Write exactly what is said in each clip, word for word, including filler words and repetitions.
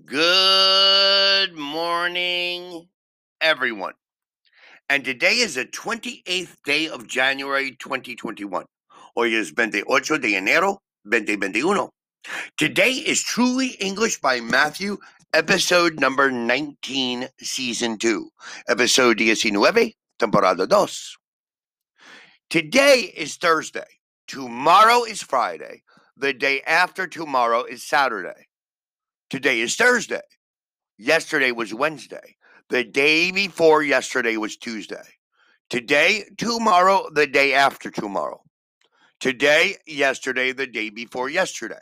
Good morning, everyone. And today is the twenty-eighth day of January twenty twenty-one. Hoy es veintiocho de enero veinte veintiuno. Today is Truly English by Matthew, episode number nineteen, season two. Episode diecinueve, temporada dos. Today is Thursday. Tomorrow is Friday. The day after tomorrow is Saturday. Today is Thursday. Yesterday was Wednesday. The day before yesterday was Tuesday. Today, tomorrow, the day after tomorrow. Today, yesterday, the day before yesterday.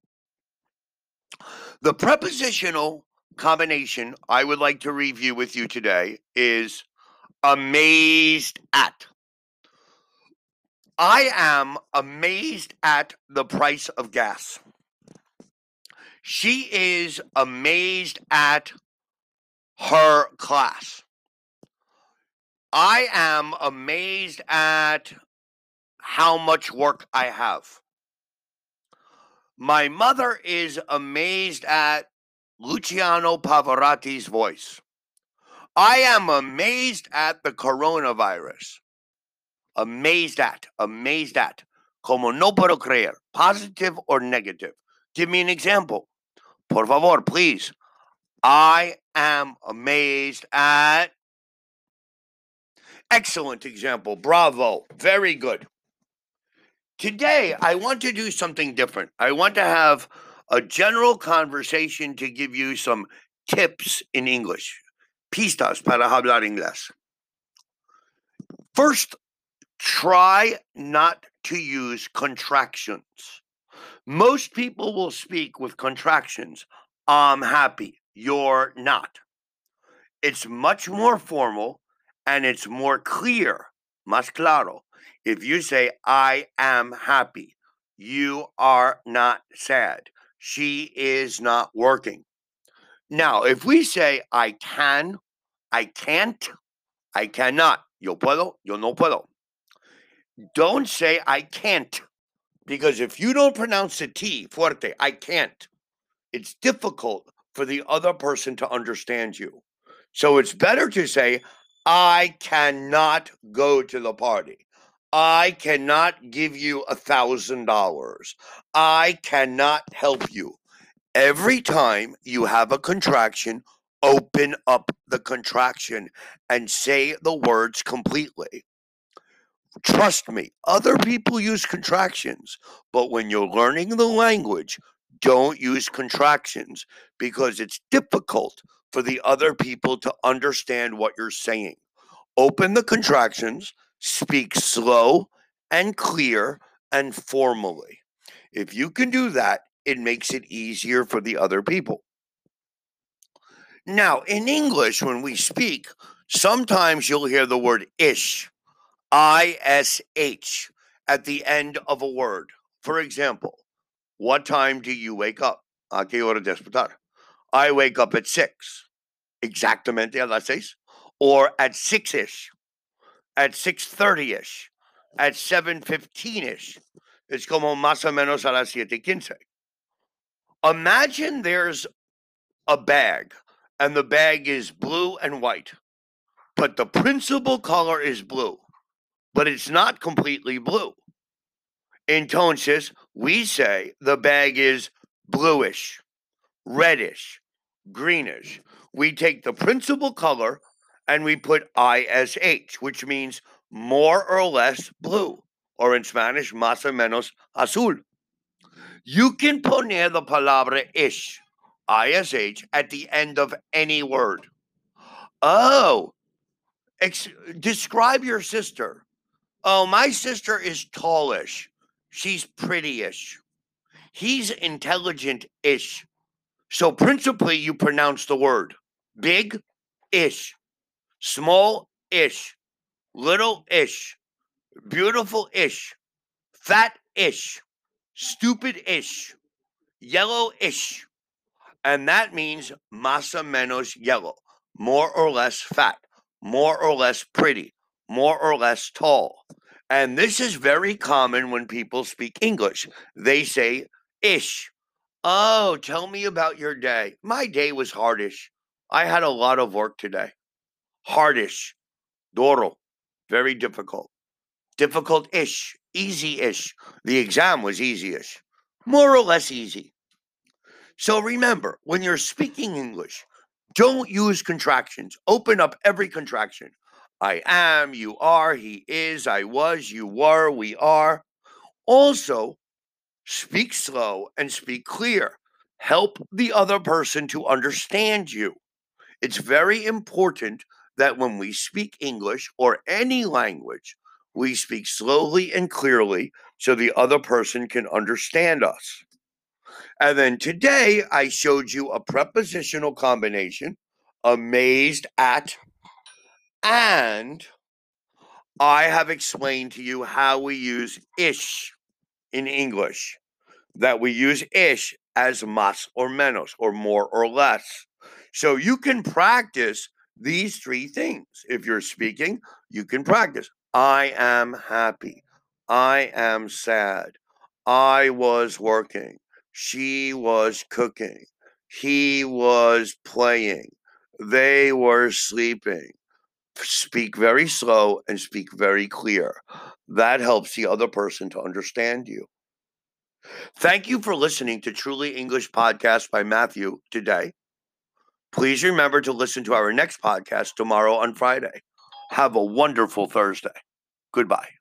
The prepositional combination I would like to review with you today is amazed at. I am amazed at the price of gas. She is amazed at her class. I am amazed at how much work I have. My mother is amazed at Luciano Pavarotti's voice. I am amazed at the coronavirus. Amazed at, amazed at. Como no puedo creer, positive or negative. Give me an example. Por favor, please. I am amazed at. Excellent example. Bravo. Very good. Today, I want to do something different. I want to have a general conversation to give you some tips in English. Pistas para hablar inglés. First, try not to use contractions. Most people will speak with contractions. I'm happy. You're not. It's much more formal and it's more clear, más claro. If you say, I am happy, you are not sad. She is not working. Now, if we say, I can, I can't, I cannot, yo puedo, yo no puedo. Don't say, I can't, because if you don't pronounce the T fuerte, I can't, it's difficult for the other person to understand you. So it's better to say, I cannot go to the party. I cannot give you a thousand dollars. I cannot help you. Every time you have a contraction, open up the contraction and say the words completely. Trust me, other people use contractions, but when you're learning the language, don't use contractions because it's difficult for the other people to understand what you're saying. Open the contractions, speak slow and clear and formally. If you can do that, it makes it easier for the other people. Now, in English, when we speak, sometimes you'll hear the word ish, I S H, at the end of a word. For example, what time do you wake up? ¿A qué hora despertar? I wake up at six. Exactamente a las seis. Or at six-ish. At six thirty-ish. At seven fifteen-ish. It's como más o menos a las siete quince. Imagine there's a bag, and the bag is blue and white. But the principal color is blue. But it's not completely blue. Entonces, we say the bag is bluish, reddish, greenish. We take the principal color and we put I S H, which means more or less blue, or in Spanish, más o menos azul. You can poner the palabra ish, I S H, at the end of any word. Oh, ex- describe your sister. Oh, my sister is tallish. She's pretty-ish. He's intelligent-ish. So principally, you pronounce the word. Big-ish. Small-ish. Little-ish. Beautiful-ish. Fat-ish. Stupid-ish. Yellow-ish. And that means más o menos yellow. More or less fat. More or less pretty. More or less tall. And this is very common when people speak English. They say ish. Oh, tell me about your day. My day was hardish. I had a lot of work today. Hardish. Duro. Very difficult. Difficult-ish. Easy-ish. The exam was easy-ish. More or less easy. So remember, when you're speaking English, don't use contractions. Open up every contraction. I am, you are, he is, I was, you were, we are. Also, speak slow and speak clear. Help the other person to understand you. It's very important that when we speak English or any language, we speak slowly and clearly so the other person can understand us. And then today I showed you a prepositional combination, amazed at, and I have explained to you how we use ish in English, that we use ish as más or menos, or more or less. So you can practice these three things. If you're speaking, you can practice. I am happy. I am sad. I was working. She was cooking. He was playing. They were sleeping. Speak very slow and speak very clear. That helps the other person to understand you. Thank you for listening to Truly English Podcast by Matthew today. Please remember to listen to our next podcast tomorrow on Friday. Have a wonderful Thursday. Goodbye.